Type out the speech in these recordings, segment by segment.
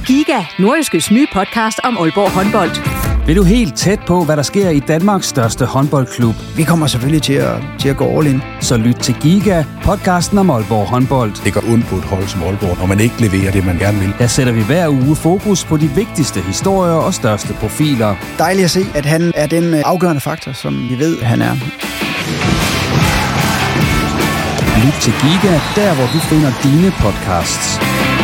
Giga, Nordjyskes nye podcast om Aalborg håndbold. Vil du helt tæt på, hvad der sker i Danmarks største håndboldklub? Vi kommer selvfølgelig til at gå all in. Så lyt til Giga, podcasten om Aalborg håndbold. Det går ondt på et hold som Aalborg, når man ikke leverer det, man gerne vil. Der sætter vi hver uge fokus på de vigtigste historier og største profiler. Dejligt at se, at han er den afgørende faktor, som vi ved, han er. Lyt til Giga, der hvor du finder dine podcasts.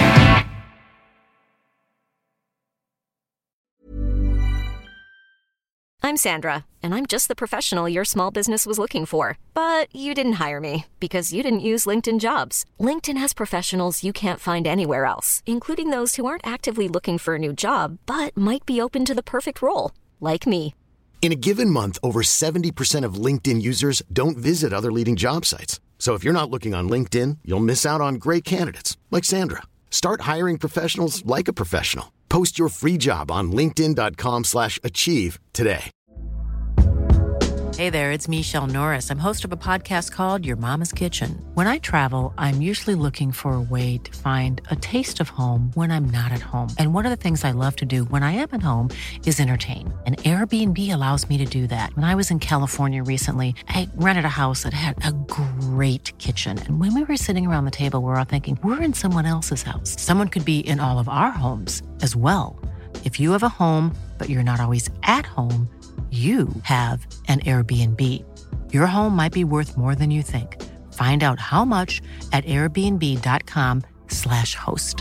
I'm Sandra, and I'm just the professional your small business was looking for. But you didn't hire me because you didn't use LinkedIn Jobs. LinkedIn has professionals you can't find anywhere else, including those who aren't actively looking for a new job, but might be open to the perfect role, like me. In a given month, over 70% of LinkedIn users don't visit other leading job sites. So if you're not looking on LinkedIn, you'll miss out on great candidates like Sandra. Start hiring professionals like a professional. Post your free job on linkedin.com/achieve today. Hey there, it's Michelle Norris. I'm host of a podcast called Your Mama's Kitchen. When I travel, I'm usually looking for a way to find a taste of home when I'm not at home. And one of the things I love to do when I am at home is entertain. And Airbnb allows me to do that. When I was in California recently, I rented a house that had a great kitchen. And when we were sitting around the table, we were all thinking, we're in someone else's house. Someone could be in all of our homes as well. If you have a home, but you're not always at home, you have an Airbnb. Your home might be worth more than you think. Find out how much at airbnb.com/host.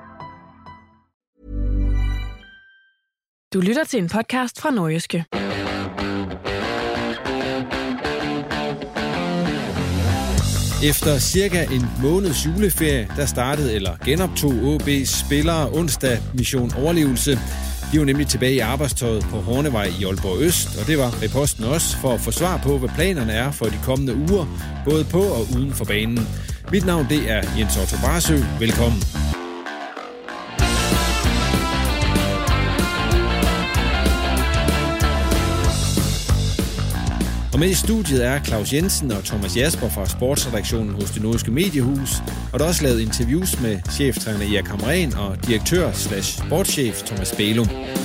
Du lytter til en podcast fra Nordjyske. Efter cirka en måneds juleferie, der startede eller genoptog AaB's spillere onsdag Mission Overlevelse. De var nemlig tilbage i arbejdstøjet på Hornevej i Aalborg Øst, og det var Reposten også for at få svar på, hvad planerne er for de kommende uger, både på og uden for banen. Mit navn det er Jens Otto Barsø. Velkommen. Og med i studiet er Claus Jensen og Thomas Jasper fra sportsredaktionen hos Det Nordjyske Mediehus, og der er også lavet interviews med cheftræner Erik Hamrén og direktør/sportschef Thomas Bælum.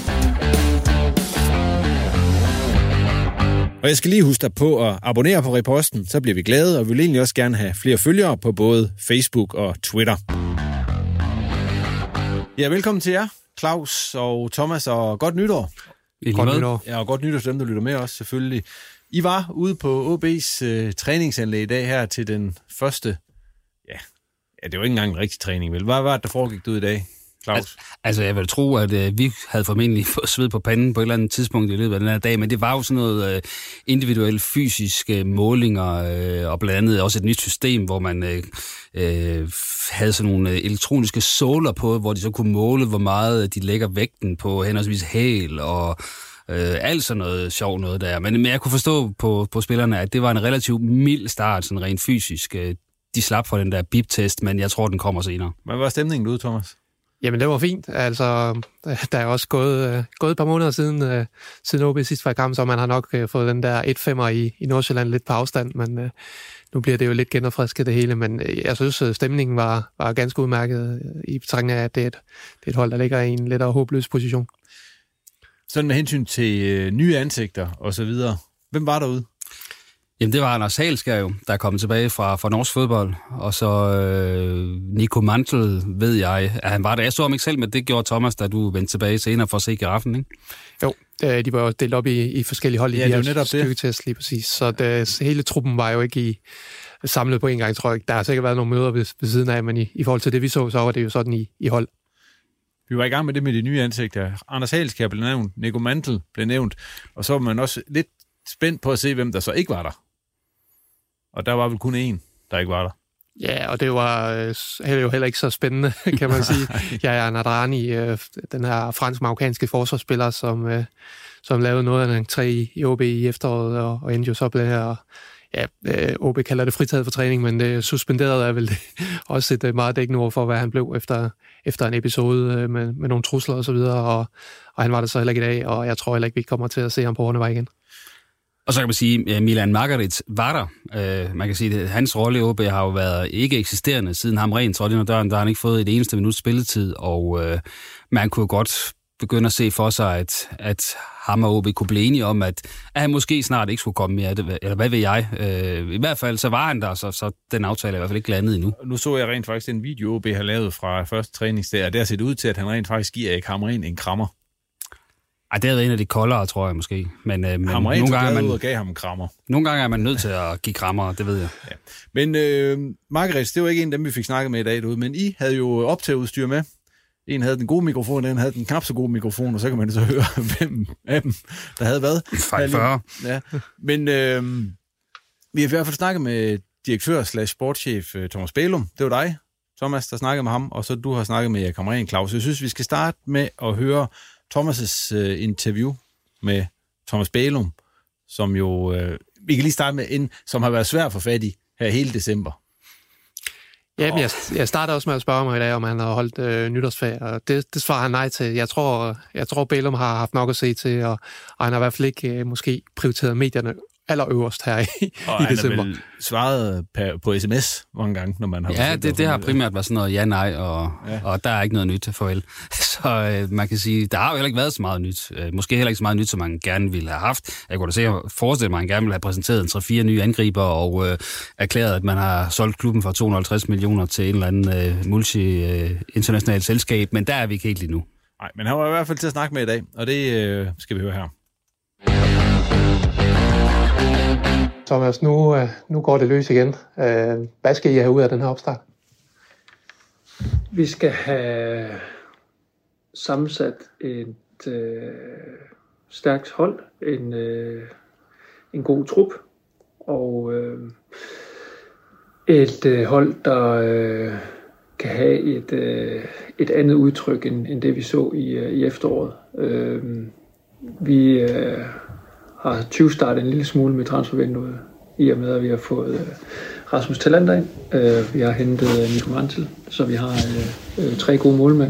Og jeg skal lige huske dig på at abonnere på Reposten, så bliver vi glade, og vi vil egentlig også gerne have flere følgere på både Facebook og Twitter. Ja, velkommen til jer, Claus og Thomas, og godt nytår. Godt nytår. Ja, og godt nytår til dem, der lytter med også, selvfølgelig. I var ude på AaB's træningsanlæg i dag her til den første, ja, det var ikke engang en rigtig træning, vel? Hvad var det, der foregik ud i dag, Claus? Altså, jeg vil tro, at vi havde formentlig fået sved på panden på et eller andet tidspunkt i løbet af den her dag, men det var jo sådan noget individuelle fysiske målinger, og blandt andet også et nyt system, hvor man havde sådan nogle elektroniske såler på, hvor de så kunne måle, hvor meget de lægger vægten på henholdsvis hæl og alt sådan noget sjov noget der. Men jeg kunne forstå på spillerne, at det var en relativt mild start, sådan rent fysisk. De slap for den der bip-test, men jeg tror, den kommer senere. Hvad var stemningen ude, Thomas? Jamen, det var fint. Altså, der er også gået et par måneder siden AaB sidst var i kamp, så man har nok fået den der 1-5'er i Nordsjælland lidt på afstand, men nu bliver det jo lidt genopfrisket det hele. Men jeg synes, stemningen var ganske udmærket i betragtning af, at det er et hold, der ligger i en lidt håbløs position. Sådan med hensyn til nye ansigter og så videre. Hvem var derude? Jamen, det var Anders Halskær jo, der er kommet tilbage fra norsk fodbold. Og så Nico Mantel, ved jeg, at han var der. Jeg så ham ikke selv, men det gjorde Thomas, da du vendte tilbage senere for at se giraffen, ikke? Jo, de var jo delt op i forskellige hold i de her styrketest lige præcis. Så hele truppen var jo ikke samlet på en gang, tror jeg. Der har sikkert været nogle møder ved siden af, men i forhold til det, vi så var det jo sådan i hold. Vi var i gang med det med de nye ansigter. Anders Halskær blev nævnt, Nico Mantel blev nævnt, og så var man også lidt spændt på at se, hvem der så ikke var der. Og der var vel kun én, der ikke var der. Ja, og det var jo heller ikke så spændende, kan man sige. Yahya Nadrani, den her fransk-marokkanske forsvarsspiller, som lavede noget af en 3 i AaB i efteråret, og endte jo så blev her. Ja, AaB kalder det fritaget for træning, men det suspenderede er vel også et meget dækkende ord for, hvad han blev efter en episode med nogle trusler og så videre, og han var det så heller ikke i dag, og jeg tror heller ikke, vi kommer til at se ham på Hornevej igen. Og så kan man sige, at Milan Margarit var der. Man kan sige, at hans rolle i OB har jo været ikke eksisterende siden Hamrén trådte ind ad døren. Der har han ikke fået et eneste minut spilletid, og man kunne godt begynde at se for sig, at ham og OB kunne blive enige om, at han måske snart ikke skulle komme mere, eller hvad ved jeg. I hvert fald så var han der, så den aftale er i hvert fald ikke landet endnu. Nu så jeg rent faktisk den video, OB har lavet fra første træningsdag, og der ser det ud til, at han rent faktisk giver Erik Hamrén en krammer. Ej, det er en af de koldere, tror jeg måske. Men nogle gange er man ud og gav ham en krammer. Nogle gange er man nødt til at give krammer, det ved jeg. Ja. Men Margaret, det var ikke en af dem, vi fik snakket med i dag derude, men I havde jo optageudstyr med. En havde den gode mikrofon, den havde den knap så gode mikrofon, og så kan man så høre, hvem af dem, der havde hvad. Fejl 40. Ja. Men vi har i hvert fald snakket med direktør/sportschef Thomas Bælum. Det var dig, Thomas, der snakkede med ham, og så du har snakket med Erik Hamrén, Claus. Jeg synes, vi skal starte med at høre Thomas' interview med Thomas Bælum, som jo, vi kan lige starte med en, som har været svær at få fat i her hele december. Ja, jeg starter også med at spørge mig i dag, om han har holdt nytårsferie, og det svarer han nej til. Jeg tror Bælum har haft nok at se til, og han har i hvert fald ikke måske prioriteret medierne allerøverst her i december. Og han har svaret på sms mange gange, når man har... Ja, det har primært været sådan noget ja-nej, og der er ikke noget nyt, farvel. Så man kan sige, der har jo heller ikke været så meget nyt. Måske heller ikke så meget nyt, som man gerne ville have haft. Jeg kunne da forestille mig, at man gerne ville have præsenteret 3-4 nye angriber og erklæret, at man har solgt klubben for 250 millioner til en eller anden multi-international selskab, men der er vi ikke helt lige nu. Nej, men han var i hvert fald til at snakke med i dag, og det skal vi høre her. Thomas, nu går det løs igen. Hvad skal I have ud af den her opstart? Vi skal have sammensat et stærkt hold, en god trup, og et hold, der kan have et andet udtryk, end det vi så i efteråret. Vi har 20 startet en lille smule med transfervinduet, i og med, at vi har fået Rasmus Talander ind. Vi har hentet Nico Mantel, så vi har 3 gode målmænd.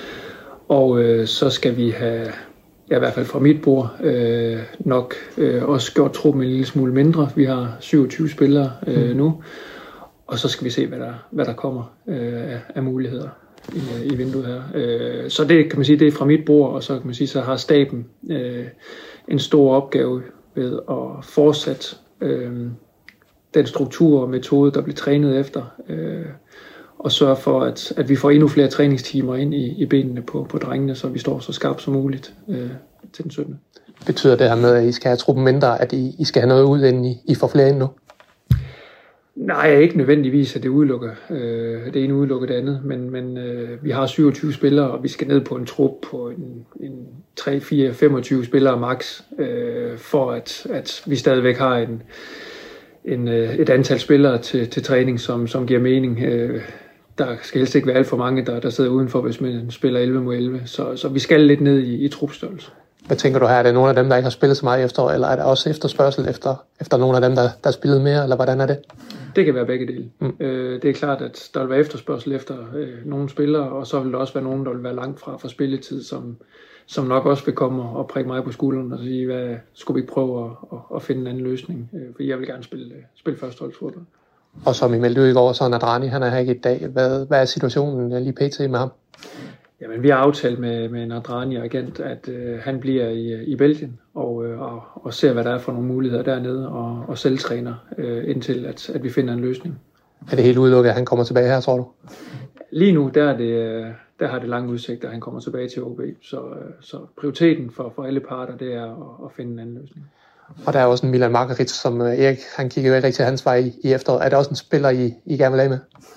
Og så skal vi have, i hvert fald fra mit bord, nok også gjort truppen en lille smule mindre. Vi har 27 spillere nu, og så skal vi se, hvad der kommer af muligheder i vinduet her. Så det kan man sige, det er fra mit bord, og så kan man sige, så har staben en stor opgave ved at fortsætte den struktur og metode, der bliver trænet efter, og sørge for, at vi får endnu flere træningstimer ind i benene på drengene, så vi står så skarpt som muligt til den 17. Betyder det her med, at I skal have truppen mindre, at I skal have noget ud, inden I får flere ind nu? Nej, ikke nødvendigvis, at det udelukker. Det ene udelukker det andet, men vi har 27 spillere, og vi skal ned på en trup på en 3, 4, 25 spillere max, for at vi stadigvæk har et antal spillere til træning, som giver mening. Der skal helst ikke være alt for mange, der sidder udenfor, hvis man spiller 11 mod 11, så vi skal lidt ned i trupstørrelse. Hvad tænker du her? Er det nogle af dem, der ikke har spillet så meget efter, eller er der også efterspørgsel efter nogle af dem, der har spillet mere, eller hvordan er det? Det kan være begge dele. Det er klart, at der vil være efterspørgsel efter nogle spillere, og så vil der også være nogen, der vil være langt fra spilletid, som nok også vil komme og prikke mig på skulderen og sige, hvad skulle vi ikke prøve at finde en anden løsning? For jeg vil gerne spille førsteholdsfodbold. Og som I meldte ud i går, så Nadrani, han er her ikke i dag. Hvad er situationen lige pt. Med ham? Jamen, vi har aftalt med Nadrani og agent, at han bliver i Belgien og ser, hvad der er for nogle muligheder dernede, og selv træner indtil, at vi finder en løsning. Er det helt udelukket, at han kommer tilbage her, tror du? Lige nu, der har det lange udsigt, at han kommer tilbage til OB. Så prioriteten for alle parter, det er at finde en anden løsning. Og der er også en Milan Margarit, som Erik, han kigger jo ikke rigtig hans vej i efteråret. Er der også en spiller, I gerne vil have med?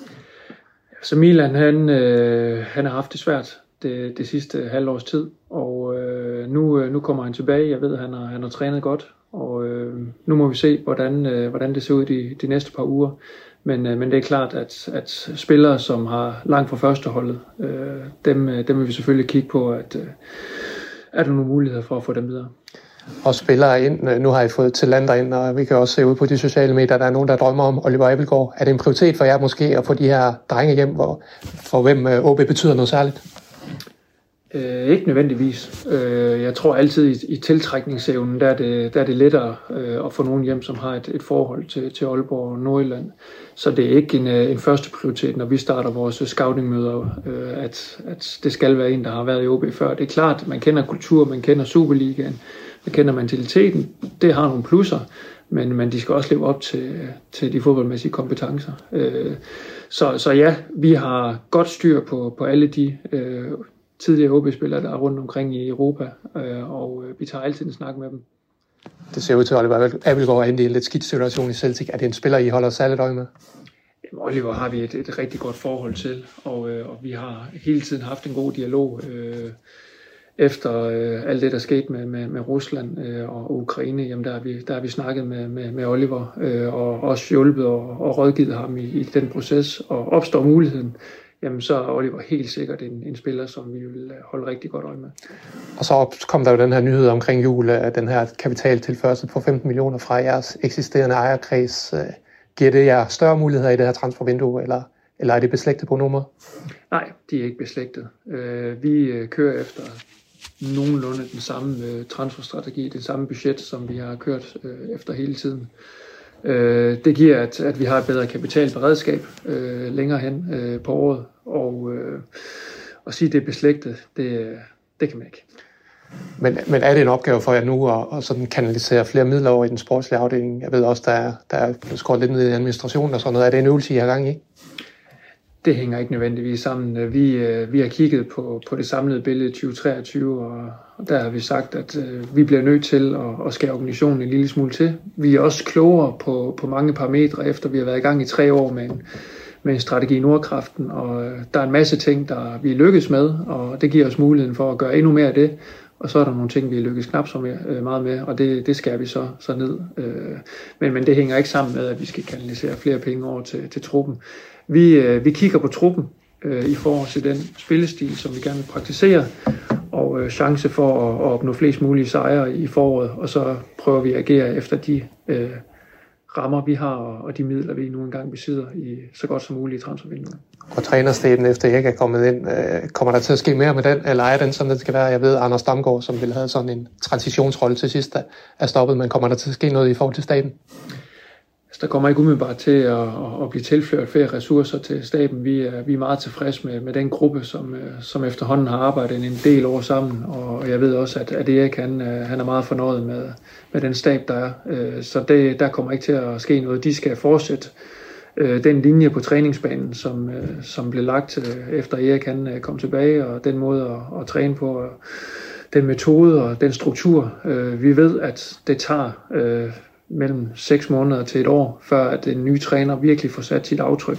Så Milan, han har haft det svært det sidste halvårs tid, og nu kommer han tilbage. Jeg ved, at han har trænet godt, og nu må vi se, hvordan det ser ud de næste par uger. Men det er klart, at spillere, som har langt fra førsteholdet, dem vil vi selvfølgelig kigge på, at er der nogle muligheder for at få dem videre. Og spillere ind. Nu har I fået Talander ind, og vi kan også se ud på de sociale medier, der er nogen, der drømmer om Oliver Abildgaard. Er det en prioritet for jer måske at få de her drenge hjem, for hvem OB betyder noget særligt? Ikke nødvendigvis. Jeg tror altid i tiltrækningsevnen, der er det lettere at få nogen hjem, som har et forhold til Aalborg og Nordjylland. Så det er ikke en første prioritet, når vi starter vores scoutingmøder, at det skal være en, der har været i OB før. Det er klart, at man kender kultur, man kender Superligaen, man kender mentaliteten. Det har nogle plusser, men de skal også leve op til de fodboldmæssige kompetencer. Så ja, vi har godt styr på alle de tidligere OB-spillere, der er rundt omkring i Europa, og vi tager altid en snak med dem. Det ser ud til, at Oliver Abildgaard er i en lidt skidt situation i Celtic. Er det en spiller, I holder særligt øje med? Oliver har vi et rigtig godt forhold til, og vi har hele tiden haft en god dialog efter alt det, der skete med Rusland og Ukraine. Jamen, der har vi snakket med Oliver og også hjulpet og rådgivet ham i den proces, og opstår muligheden, jamen så er Oliver helt sikkert en spiller, som vi vil holde rigtig godt øje med. Og så kom der jo den her nyhed omkring jul, den her kapitaltilførsel på 15 millioner fra jeres eksisterende ejerkreds. Giver det jer større muligheder i det her transfervindue, eller er det beslægtet på nummer? Nej, de er ikke beslægtet. Vi kører efter nogenlunde den samme transferstrategi, det samme budget, som vi har kørt efter hele tiden. Det giver, at vi har et bedre kapitalberedskab længere hen på året, og at sige, at det er beslægtet, det kan man ikke. Men er det en opgave for jer nu at sådan kanalisere flere midler over i den sportslige afdeling? Jeg ved også, der er blevet skåret lidt ned i administrationen og sådan noget. Er det en øvelse, I har gang i? Det hænger ikke nødvendigvis sammen. Vi har kigget på det samlede billede 2023, og der har vi sagt, at vi bliver nødt til at skære organisationen en lille smule til. Vi er også klogere på mange parametre, efter vi har været i gang i 3 år med en strategi i Nordkraften, og der er en masse ting, der vi lykkes med, og det giver os muligheden for at gøre endnu mere af det. Og så er der nogle ting, vi lykkes knap så meget med, og det skærer vi så ned. Men det hænger ikke sammen med, at vi skal kanalisere flere penge over til truppen. Vi kigger på truppen i forhold til den spillestil, som vi gerne vil praktisere, og chance for at opnå flest mulige sejre i foråret, og så prøver vi at agere efter de rammer, vi har, og de midler, vi nu engang besidder i så godt som muligt i transfervinduet. Og trænerstaben efter Erik er kommet ind, kommer der til at ske mere med den, eller er den sådan, det skal være? Jeg ved, Anders Damgaard, som ville have sådan en transitionsrolle til sidst, er stoppet, men kommer der til at ske noget i forhold til staben? Der kommer ikke umiddelbart til at blive tilført flere ressourcer til staben. Vi er meget tilfredse med den gruppe, som efterhånden har arbejdet en del år sammen, og jeg ved også, at Erik han er meget fornøjet med den stab, der er. Så der kommer ikke til at ske noget. De skal fortsætte den linje på træningsbanen, som blev lagt efter Erik han kom tilbage, og den måde at træne på, og den metode og den struktur. Vi ved, at det tager mellem 6 måneder til 1 år, før at en ny træner virkelig får sat sit aftryk.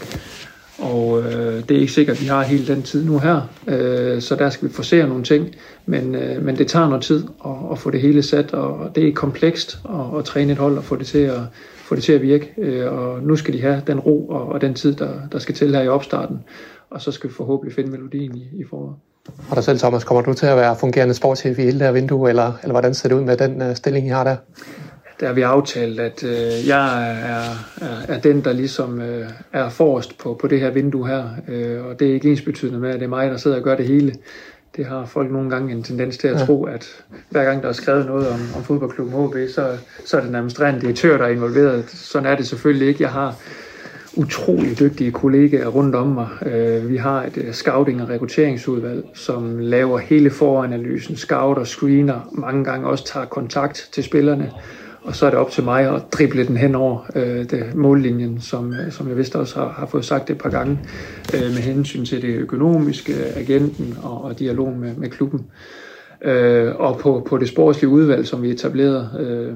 Og det er ikke sikkert, at vi har hele den tid nu her, så der skal vi forsere nogle ting, men det tager noget tid at få det hele sat, og det er komplekst at træne et hold og få det til at virke, og nu skal de have den ro og den tid, der skal til her i opstarten, og så skal vi forhåbentlig finde melodien i foråret. Og dig selv, Thomas, kommer du til at være fungerende sportschef i hele det her vindue, eller hvordan ser det ud med den stilling, I har der? Der har vi aftalt, at jeg er den, der ligesom er forrest på det her vindue her, og det er ikke ensbetydende med, at det er mig, der sidder og gør det hele. Det har folk nogle gange en tendens til at tro, at hver gang der er skrevet noget om fodboldklubben HB, så er det en administrerende direktør, der er involveret. Sådan er det selvfølgelig ikke. Jeg har utrolig dygtige kollegaer rundt om mig. Vi har et scouting- og rekrutteringsudvalg, som laver hele foranalysen, scouter, screener, mange gange også tager kontakt til spillerne. Og så er det op til mig at drible den hen over mållinjen, som jeg vist også har fået sagt et par gange, med hensyn til det økonomiske, agenten og dialogen med klubben. Og på det sportslige udvalg, som vi etablerede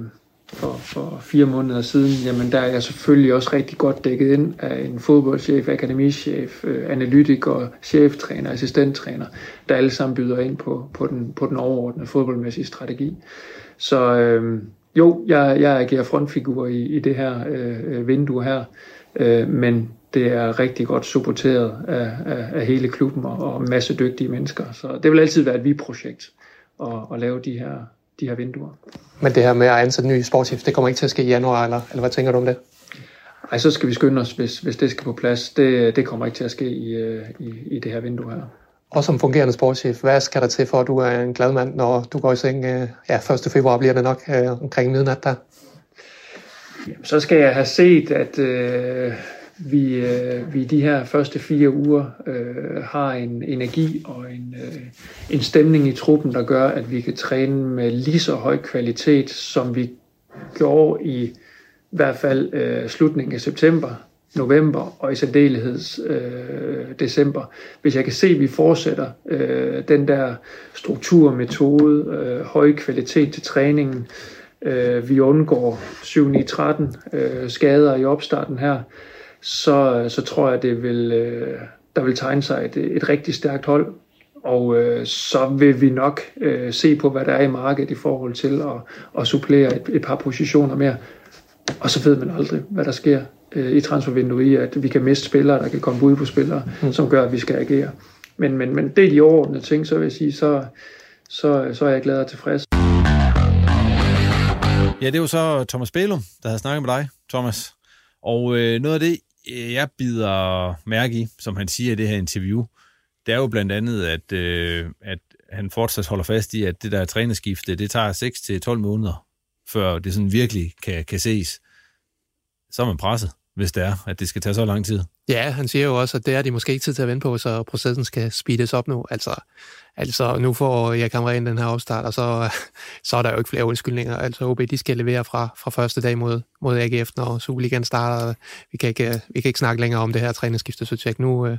for 4 måneder siden, jamen der er jeg selvfølgelig også rigtig godt dækket ind af en fodboldchef, akademichef, analytiker, cheftræner, assistenttræner, der alle sammen byder ind på den overordnede fodboldmæssige strategi. Så jo, jeg agerer frontfigur i det her vindue her, men det er rigtig godt supporteret af hele klubben og en masse dygtige mennesker. Så det vil altid være et vi-projekt at lave de her vinduer. Men det her med at ansætte ny sportschef, det kommer ikke til at ske i januar, eller hvad tænker du om det? Ej, så skal vi skynde os, hvis det skal på plads. Det kommer ikke til at ske i det her vindue her. Og som fungerende sportschef, hvad skal der til for, at du er en glad mand, når du går i seng? 1. februar bliver det nok omkring midnat der. Jamen, så skal jeg have set, at vi de her første 4 uger har en energi og en stemning i truppen, der gør, at vi kan træne med lige så høj kvalitet, som vi gjorde i hvert fald slutningen af september, november og i særdeleshed december. Hvis jeg kan se, at vi fortsætter den der struktur, metode, høj kvalitet til træningen, vi undgår 7-9-13 skader i opstarten her, så tror jeg, der vil tegne sig et rigtig stærkt hold. Og så vil vi nok se på, hvad der er i markedet i forhold til at supplere et par positioner mere. Og så ved man aldrig, hvad der sker i transfervinduet i, at vi kan miste spillere, der kan komme ud på spillere, som gør, at vi skal agere. Men det er de overordnede ting, så vil jeg sige, så er jeg glad og tilfreds. Ja, det er jo så Thomas Bælum, der havde snakket med dig, Thomas. Og noget af det, jeg bider mærke i, som han siger i det her interview, det er jo blandt andet, at han fortsat holder fast i, at det der trænerskifte, det tager 6 til 12 måneder, før det sådan virkelig kan ses. Så er man presset, hvis det er, at det skal tage så lang tid. Ja, han siger jo også, at det er de måske ikke tid til at vente på, så processen skal speedes op nu. Altså nu får jeg kameraten den her opstart, og så er der jo ikke flere undskyldninger. Altså OB, de skal levere fra første dag mod AGF, når Superligaen starter. Vi kan ikke snakke længere om det her trænerskifteprojekt.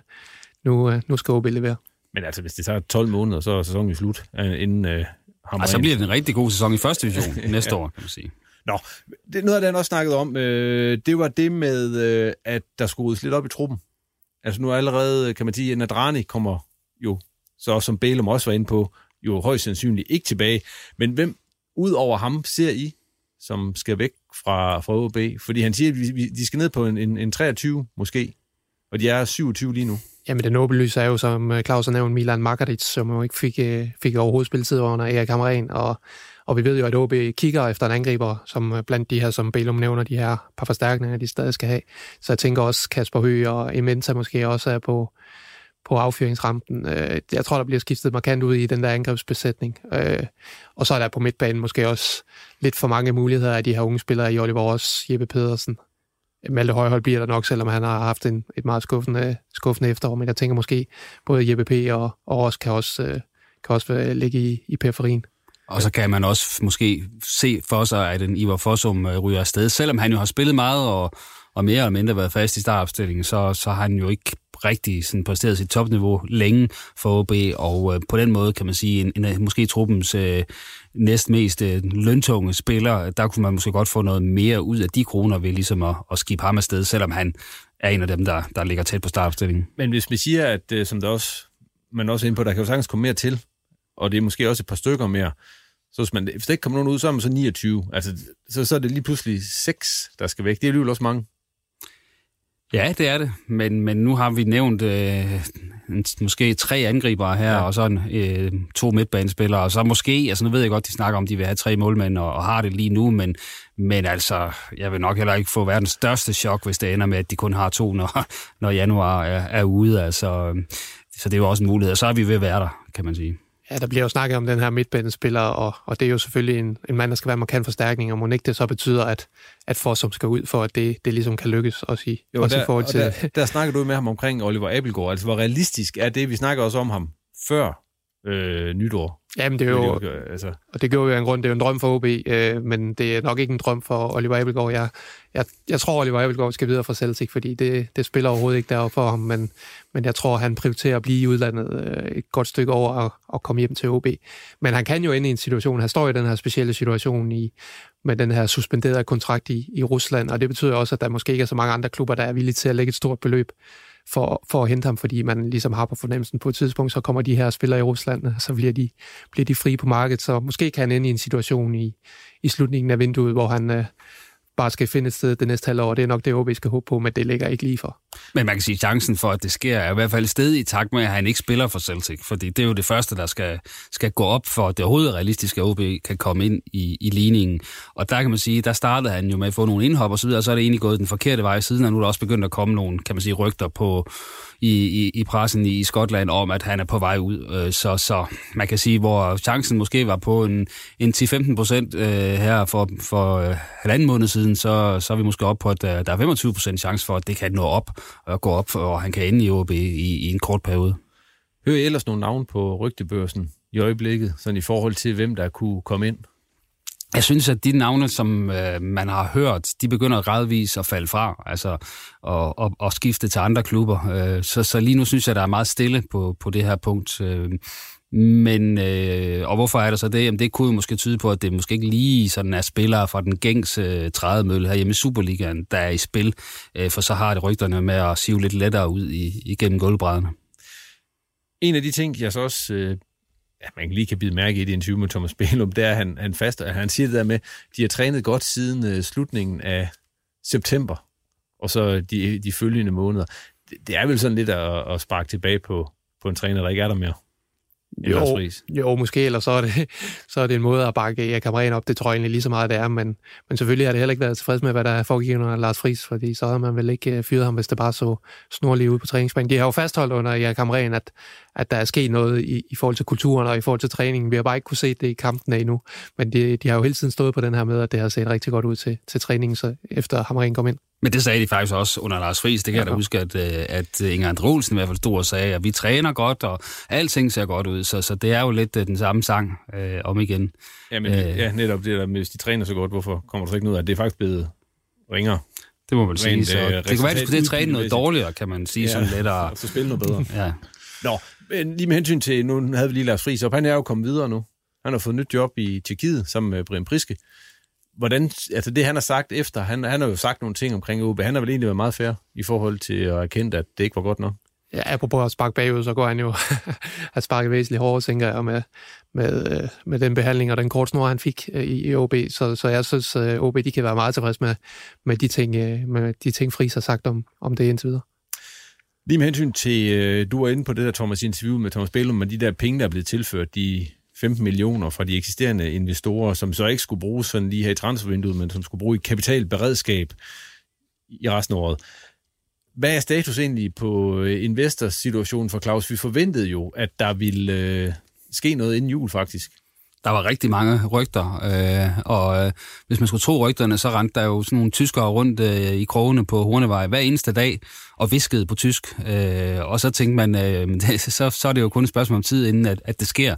Nu skal OB levere. Men altså, hvis det tager 12 måneder, så er sæsonen slut, inden så bliver det en rigtig god sæson i første division næste år, kan man sige. Nå, det, noget af det, han også snakkede om, det var det med, at der skulle ryddes lidt op i truppen. Altså nu allerede, kan man sige, at Nadrani kommer jo, så som Bælum også var inde på, jo højst sandsynligt ikke tilbage. Men hvem ud over ham ser I, som skal væk fra OB? Fordi han siger, at de skal ned på en 23 måske, og de er 27 lige nu. Jamen det åbenlyse er jo, som Claus har nævnt, Milan Markaric, som jo ikke fik overhovedet spilletid under Erik Hamrén, og vi ved jo, at OB kigger efter en angriber, som blandt de her, som Bælum nævner, de her par forstærkninger, de stadig skal have. Så jeg tænker også, Kasper Høgh og Ementa måske også er på affyringsrampen. Jeg tror, der bliver skiftet markant ud i den der angrebsbesætning. Og så er der på midtbanen måske også lidt for mange muligheder af de her unge spillere i Oliver Ross, Jeppe Pedersen. Malte Højhold bliver der nok, selvom han har haft et meget skuffende efterår, men jeg tænker måske både Jeppe P. og Ross kan også ligge i periferien. Og så kan man også måske se for sig, at en Ivar Fossum ryger afsted. Selvom han jo har spillet meget og mere eller mindre været fast i startopstillingen, så har han jo ikke rigtig sådan præsteret sit topniveau længe for OB, og på den måde kan man sige, måske truppens næstmest løntunge spiller, der kunne man måske godt få noget mere ud af de kroner ved ligesom at skibe ham afsted, selvom han er en af dem, der ligger tæt på startopstillingen. Men hvis vi siger, at som man også er inde på, der kan jo sagtens komme mere til, og det er måske også et par stykker mere, så hvis der ikke kommer nogen ud, så er man så 29. Altså, så er det lige pludselig 6, der skal væk. Det er alligevel også mange. Ja, det er det. Men nu har vi nævnt måske 3 angribere her, og så 2 midtbanespillere, og så måske, altså nu ved jeg godt, de snakker om, de vil have 3 målmænd, og har det lige nu, men altså, jeg vil nok heller ikke få verdens største chok, hvis det ender med, at de kun har 2, når januar er ude. Altså, så det er jo også en mulighed, og så er vi ved at være der, kan man sige. Ja, der bliver jo snakket om den her midtbanespiller, og det er jo selvfølgelig en mand, der skal være markant forstærkning, og må ikke det så betyder, at Fossum skal ud, for at det ligesom kan lykkes også i forhold til... Der snakker du med ham omkring Oliver Abildgaard, altså hvor realistisk er det, vi snakker også om ham før nytår? Jamen det er jo, og det gjorde jo en grund, det er jo en drøm for OB, men det er nok ikke en drøm for Oliver Abildgaard. Jeg tror, Oliver Abildgaard skal videre fra Celtic, fordi det spiller overhovedet ikke deroppe for ham, men jeg tror, han prioriterer at blive i udlandet et godt stykke over at komme hjem til OB. Men han kan jo ende i en situation, han står i den her specielle situation med den her suspenderede kontrakt i Rusland, og det betyder også, at der måske ikke er så mange andre klubber, der er villige til at lægge et stort beløb for at hente ham, fordi man ligesom har på fornemmelsen på et tidspunkt, så kommer de her spillere i Rusland, og så bliver de frie på markedet, så måske kan han ende i en situation i slutningen af vinduet, hvor han bare skal finde et sted det næste halvår. Det er nok det, OB skal håbe på, men det ligger ikke lige for. Men man kan sige, at chancen for, at det sker, er i hvert fald sted i takt med, at han ikke spiller for Celtic. Fordi det er jo det første, der skal gå op for, at det overhovedet er realistisk, at OB kan komme ind i ligningen. Og der kan man sige, der startede han jo med at få nogle indhop og så videre, og så er det egentlig gået den forkerte vej siden, og nu er der også begyndt at komme nogle, kan man sige, rygter på i pressen i Skotland om, at han er på vej ud. Så man kan sige, hvor chancen måske var på en 10-15% her for halvanden måned siden, så er vi måske op på, at der er 25% chance for, at det kan nå op og gå op, og han kan ende i OB i en kort periode. Hører I ellers nogle navn på rygtebørsen i øjeblikket, sådan i forhold til, hvem der kunne komme ind? Jeg synes, at de navne, som man har hørt, de begynder gradvist at falde fra, altså og skifte til andre klubber. Så lige nu synes jeg, der er meget stille på det her punkt. Men og hvorfor er der så det? Jamen, det kunne jo måske tyde på, at det måske ikke lige sådan er spillere fra den gængse trædemølle her hjemme i Superligaen, der er i spil, for så har det rygterne med at sive lidt lettere ud igennem gulvbrædderne. En af de ting, jeg så også man lige kan bide mærke i det interview med Thomas Bælum, det er, at han siger det der med, de har trænet godt siden slutningen af september, og så de følgende måneder. Det er vel sådan lidt at sparke tilbage på en træner, der ikke er der mere. Jo, måske, eller så er det en måde at bakke Erik Hamrén op. Det tror jeg egentlig lige så meget, det er, men selvfølgelig har det heller ikke været tilfreds med, hvad der foregik under Lars Friis, fordi så havde man vel ikke fyret ham, hvis det bare så snorligt ud på træningsbanen. De har jo fastholdt under Erik Hamrén, at der er sket noget i forhold til kulturen og i forhold til træningen. Vi har bare ikke kunne se det i kampen endnu, men de har jo hele tiden stået på den her med, at det har set rigtig godt ud til træningen, så efter Hamrén kom ind. Men det sagde de faktisk også under Lars Friis. Det kan jeg da huske, at Inger Andre Olsen i hvert fald stod og sagde, at vi træner godt, og alting ser godt ud. Så det er jo lidt den samme sang om igen. Jamen, netop det der med, hvis de træner så godt, hvorfor kommer der så ikke noget af? Det er faktisk blevet ringere. Det må man sige. Så det kan være, at skulle træne noget dårligere, kan man sige, sådan lidt. Og så spille noget bedre. Ja. Nå, men lige med hensyn til, nu havde vi lige Lars Friis op. Han er jo kommet videre nu. Han har fået nyt job i Tjekkiet sammen med Brian Priske. Hvordan, altså det han har sagt efter, han har jo sagt nogle ting omkring OB, han har vel egentlig været meget fair i forhold til at erkende, at det ikke var godt nok. Ja, apropos at sparke bagud, så går han jo at sparke væsentligt hårdere, tænker jeg, med den behandling og den kort snor, han fik i OB. Så jeg synes, OB de kan være meget tilfreds med de ting, Friis har sagt om det indtil videre. Lige med hensyn til, du var inde på det der, Thomas, interview med Thomas Bælum, med de der penge, der er blevet tilført, de 15 millioner fra de eksisterende investorer, som så ikke skulle bruges sådan lige her i transfervinduet, men som skulle bruge i kapitalberedskab i resten af året. Hvad er status egentlig på investorsituationen for Claus? Vi forventede jo, at der ville ske noget inden jul, faktisk. Der var rigtig mange rygter, og hvis man skulle tro rygterne, så rendte der jo sådan nogle tyskere rundt i krogene på Hornevej hver eneste dag og viskede på tysk. Og så tænkte man, så er det jo kun et spørgsmål om tid, inden at det sker.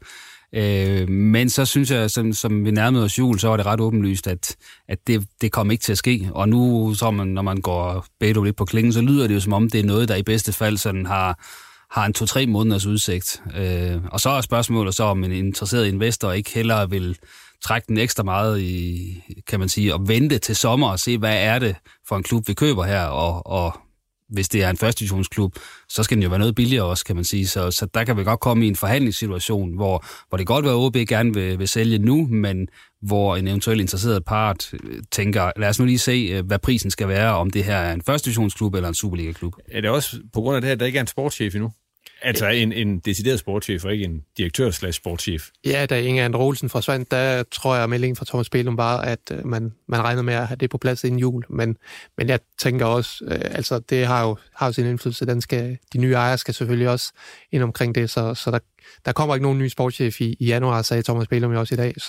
Men så synes jeg, som vi nærmede os jul, så var det ret åbenlyst, at det kom ikke til at ske. Og nu, så når man går Beto lidt på klingen, så lyder det jo som om, det er noget, der i bedste fald sådan har en 2-3 måneders udsigt. Og så er spørgsmålet så, om en interesseret investor ikke hellere vil trække den ekstra meget i, kan man sige, og vente til sommer og se, hvad er det for en klub, vi køber her, og hvis det er en første divisionsklub, så skal den jo være noget billigere også, kan man sige. Så der kan vi godt komme i en forhandlingssituation, hvor det godt være, at OB gerne vil sælge nu, men hvor en eventuelt interesseret part tænker, lad os nu lige se, hvad prisen skal være, om det her er en første divisionsklub eller en Superliga-klub. Er det også på grund af det her, at der ikke er en sportschef endnu? Altså en decideret sportschef, og ikke en direktør/sportschef. Ja, da Inger Andre Olsen forsvandt, der tror jeg, at meldingen fra Thomas Bælum var, at man regnede med at have det på plads inden jul. Men jeg tænker også, altså det har jo sin indflydelse. De nye ejere skal selvfølgelig også ind omkring det, så der kommer ikke nogen ny sportschef i januar, sagde Thomas Bælum jo også i dag.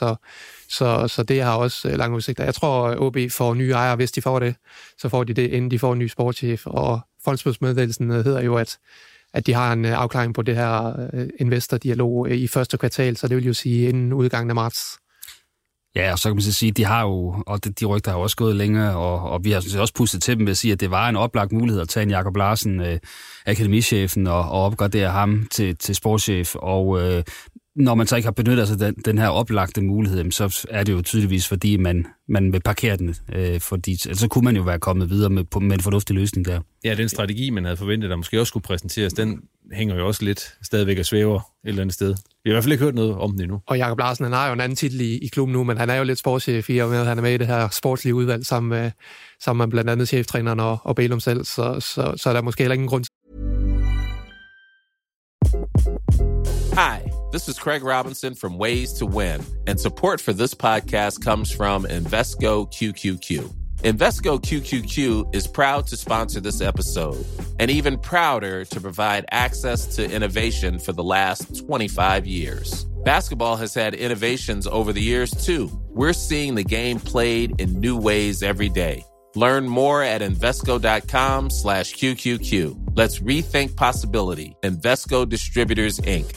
Så det har også lange udsigter. Jeg tror, at OB får nye ejere, hvis de får det, så får de det, inden de får en ny sportschef. Og fondsmeddelelsen hedder jo, at de har en afklaring på det her investordialog i første kvartal, så det vil jo sige inden udgangen af marts. Ja, og så kan man så sige, at de har jo, og de rygter har også gået længere, og vi har sådan set også pustet til dem ved at sige, at det var en oplagt mulighed at tage en Jakob Larsen, akademichefen, og opgradere ham til sportschef, og når man så ikke har benyttet sig den her oplagte mulighed, så er det jo tydeligvis, fordi man vil parkere den. Fordi så kunne man jo være kommet videre med en fornuftig løsning der. Ja, den strategi, man havde forventet, der måske også skulle præsenteres, den hænger jo også lidt stadigvæk og svæver et eller andet sted. Vi har i hvert fald ikke hørt noget om den endnu. Og Jakob Larsen, han har jo en anden titel i klubben nu, men han er jo lidt sportschef i og med, at han er med i det her sportslige udvalg sammen med blandt andet cheftræneren og Bælum selv, så er der måske heller ingen grund til. Hi, this is Craig Robinson from Ways to Win, and support for this podcast comes from Invesco QQQ. Invesco QQQ is proud to sponsor this episode, and even prouder to provide access to innovation for the last 25 years. Basketball has had innovations over the years, too. We're seeing the game played in new ways every day. Learn more at Invesco.com/QQQ. Let's rethink possibility. Invesco Distributors, Inc.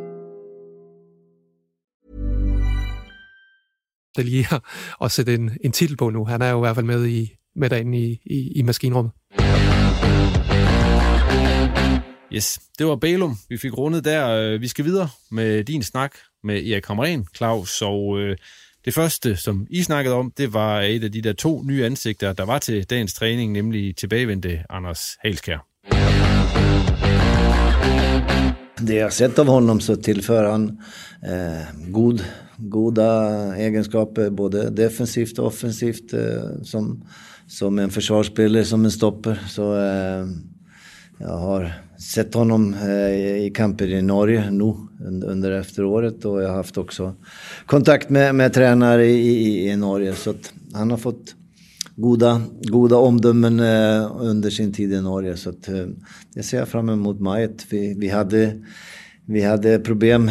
Det lige at sætte en titel på nu. Han er jo i hvert fald med derinde i maskinrummet. Yes, det var Bælum. Vi fik rundet der. Vi skal videre med din snak med Erik Hamrén, Claus. Og det første, som I snakkede om, det var et af de der 2 nye ansigter, der var til dagens træning, nemlig tilbagevendte Anders Halskjær. Det jag sett av honom så tillför han goda egenskaper både defensivt och offensivt som en försvarsspelare, som en stopper. Så jag har sett honom i kamper i Norge nu under efteråret, och jag har haft också kontakt med tränare i Norge, så att han har fått goda omdömen under sin tid i Norge, så att det ser jag fram emot Majet. Vi hade problem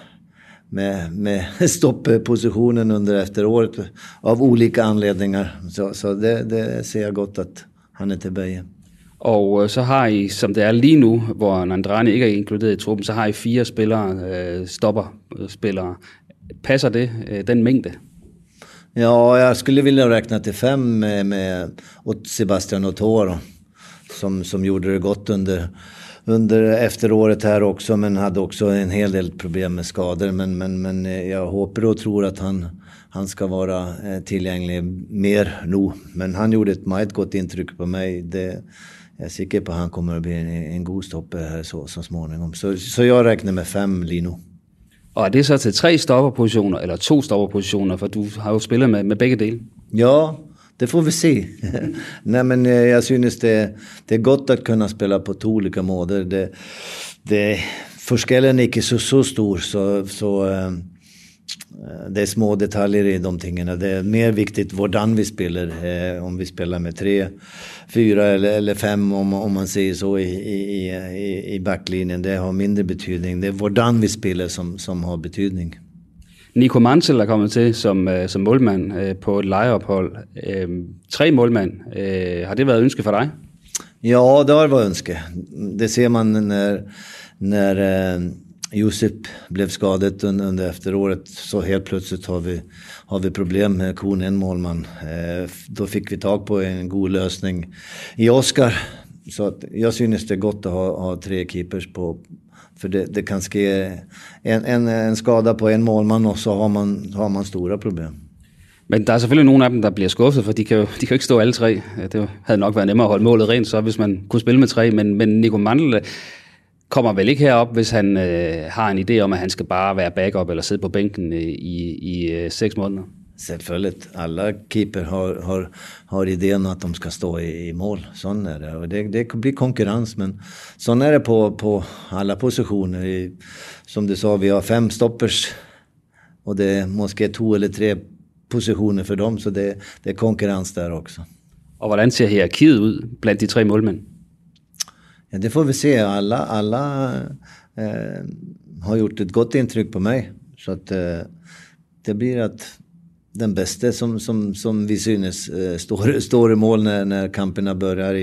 med stopppositionen under efteråret av olika anledningar, så det ser jeg godt at han er tilbage. Og så har I, som det er lige nu, hvor Nandrani ikke er inkluderet i truppen, så har I 4 spillere, stopperspillere. Passer det, den mængde? Ja, jag skulle vilja räkna till 5 med Sebastian Otoro som gjorde det gott under efteråret här också, men hade också en hel del problem med skador, men jag hoppas och tror att han ska vara tillgänglig mer nu, men han gjorde ett mycket gott intryck på mig. Jag är säker på att han kommer att bli en god stopper här så småningom, så jag räknar med 5 lige nu. Og er det så til 3 stopperpositioner, eller 2 stopperpositioner, for du har jo spillet med begge dele? Ja, det får vi se. Nej, men jag synes det är gott att kunna spela på 2 olika måder. Det forskellen är inte så stor, så det är små detaljer i de tingene. Det är mer viktigt hvordan vi spelar, om vi spelar med 3, 4 eller 5, om man säger så i backlinjen. Det har mindre betydning. Det är hvordan vi spelar som har betydning. Nico Mantel er kommet til som målmand på et lejeophold. 3 målmand. Har det været ønske for dig? Ja, det har varit ønske. Det ser man när Josip blev skadet under efteråret, så helt plötsligt har vi problem med en målman. Då fick vi tag på en god lösning i Oskar. Så att jag synes det är gott att ha 3 keepers på, för det kan ske en skada på en målman, och så har man stora problem. Men der er selvfølgelig nogle af dem, der bliver skuffet, for de kan jo ikke stå alle 3. Det havde nok været nemmere at holde målet rent, så hvis man kunne spille med 3, men Nico Mantel kommer vel ikke herop, hvis han har en idé om, at han skal bare være backup eller sidde på bænken i 6 måneder. Självfallet, alla keeper har idén att de ska stå i mål. Sån är det. Och det blir konkurrens, men sån är det på alla positioner. Som du sa, vi har 5 stoppers, och det är måske 2 eller 3 positioner för dem, så det är konkurrens där också. Og hvordan ser hierarkiet ud blandt de 3 målmænd? Ja, det får vi se. Alla har gjort ett gott intryck på mig, så att det blir att den bästa som vi synes står i mål när kamperna börjar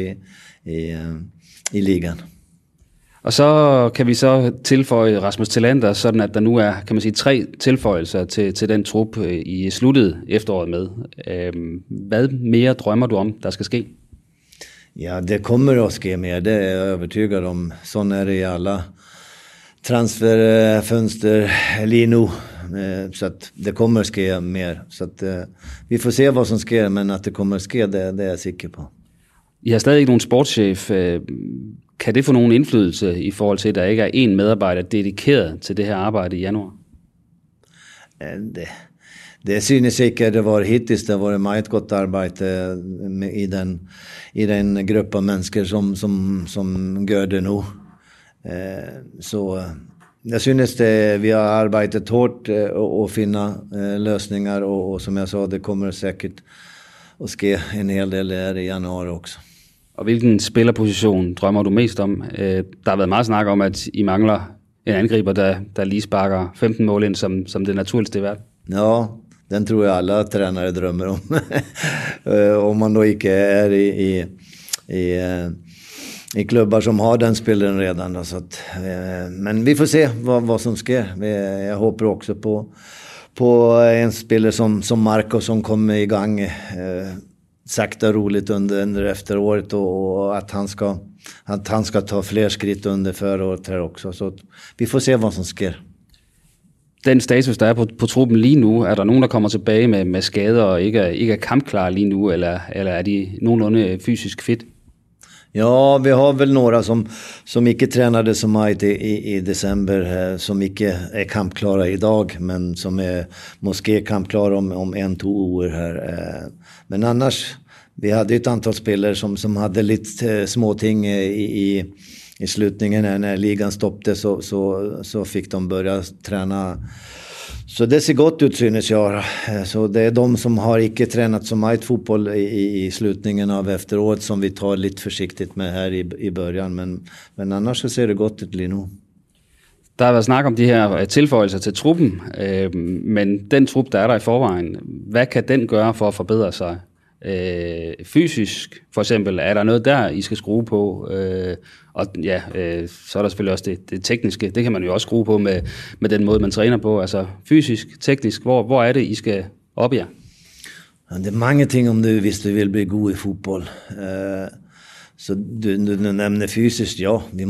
i ligan. Og så kan vi så tilføje Rasmus Thelander, sådan at der nu er, kan man sige, 3 tilføjelser til den trup i sluttet efteråret med. Hvad mere drømmer du om, der skal ske? Ja, det kommer att ske mer, det är jag övertygad om. Sån är det i alla transferfönster Lino. Så att det kommer ske mer. Så att vi får se vad som sker, men att det kommer ske, det er jeg sikker på. I har stadig ikke nogen sportschef. Kan det få nogen indflydelse i forhold til, at der ikke er en medarbejder dedikeret til det her arbejde i januar? Det synes ikke det var hittills. Det var meget godt arbejde i den gruppe av mennesker som gør det nu. Så jeg synes vi har arbejdet hårdt og finde løsninger, og som jeg sa, det kommer sikkert at ske en hel del her i januar også. Og hvilken spillerposition drømmer du mest om? Der har været meget snak om, at I mangler en angriber, der lige sparker 15 mål ind som det naturligste i verden. Ja, den tror jeg alle trænere drømmer om. Om man då ikke er i klubbar som har den spilleren redan. Så att, men vi får se vad som sker. Jag hoppas också på en spelare som Marco som kommer igång sakta roligt under efteråret, och att han ska ta fler skritt under förra året här också. Så vi får se vad som sker. Den status, der er på truppen lige nu, er der nogen, der kommer tilbage med skader og ikke er kampklare lige nu, eller er de nogenlunde fysisk fit? Ja, vi har väl några som ikke tränade så meget i december, som ikke är kampklara idag, men som är måske kampklara om 1-2 år här. Men annars, vi hade ett antal spelare som hade lite småting i slutningen när ligan stoppade, så fick de börja träna. Så det ser gott ut synes jag. Så det är de som har ikke tränat så mycket fotboll i slutningen av efteråret som vi tar lite försiktigt med här i början. Men annars så ser det godt ut lige nu. Der har været snak om de her tilføjelser til truppen, men den trup, der er der i forvejen, hvad kan den gøre for at forbedre sig? Fysisk for eksempel, er der noget der, I skal skrue på? Og ja, så er der selvfølgelig også det tekniske. Det kan man jo også skrue på med den måde, man træner på. Altså fysisk, teknisk, hvor er det, I skal op jer? Ja, det er mange ting om du, hvis du vil blive god i fodbold. Så du nævner fysisk, ja, vi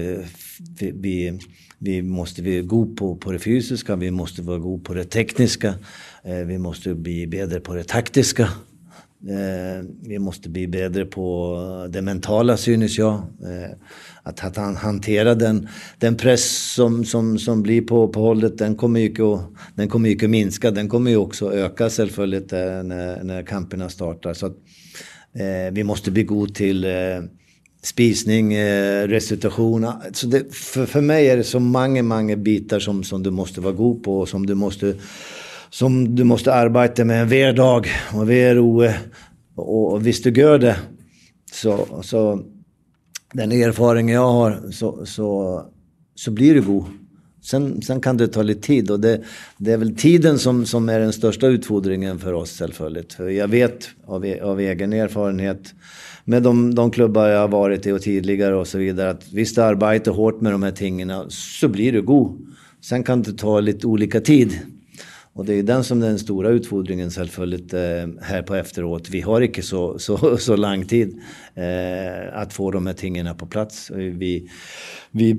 måste være gode på det fysiska, vi måste være gode på det tekniska, vi måste bli bedre på det taktiska. Vi måste bli bättre på det mentala, synes jag. Att hantera den press som blir på hållet, den kommer ju att minska. Den kommer ju också öka självfallet när kamperna startar. Så att, vi måste bli god till spisning, restitution. Så det, för mig är det så många bitar som du måste vara god på, och som du måste arbeta med hver dag och hver uge, och hvis du gör det så den erfarenhet jag har så blir du god. Sen kan det ta lite tid, och det är väl tiden som är den största utfordringen för oss självfallet. För jag vet av egen erfarenhet med de klubbar jag har varit i och tidigare och så vidare, att visst du arbetar hårt med de här tingarna så blir du god. Sen kan det ta lite olika tid. Och det är den som är den stora utfordringen självfallet här på efteråt. Vi har inte så lång tid att få de här tingarna på plats. Vi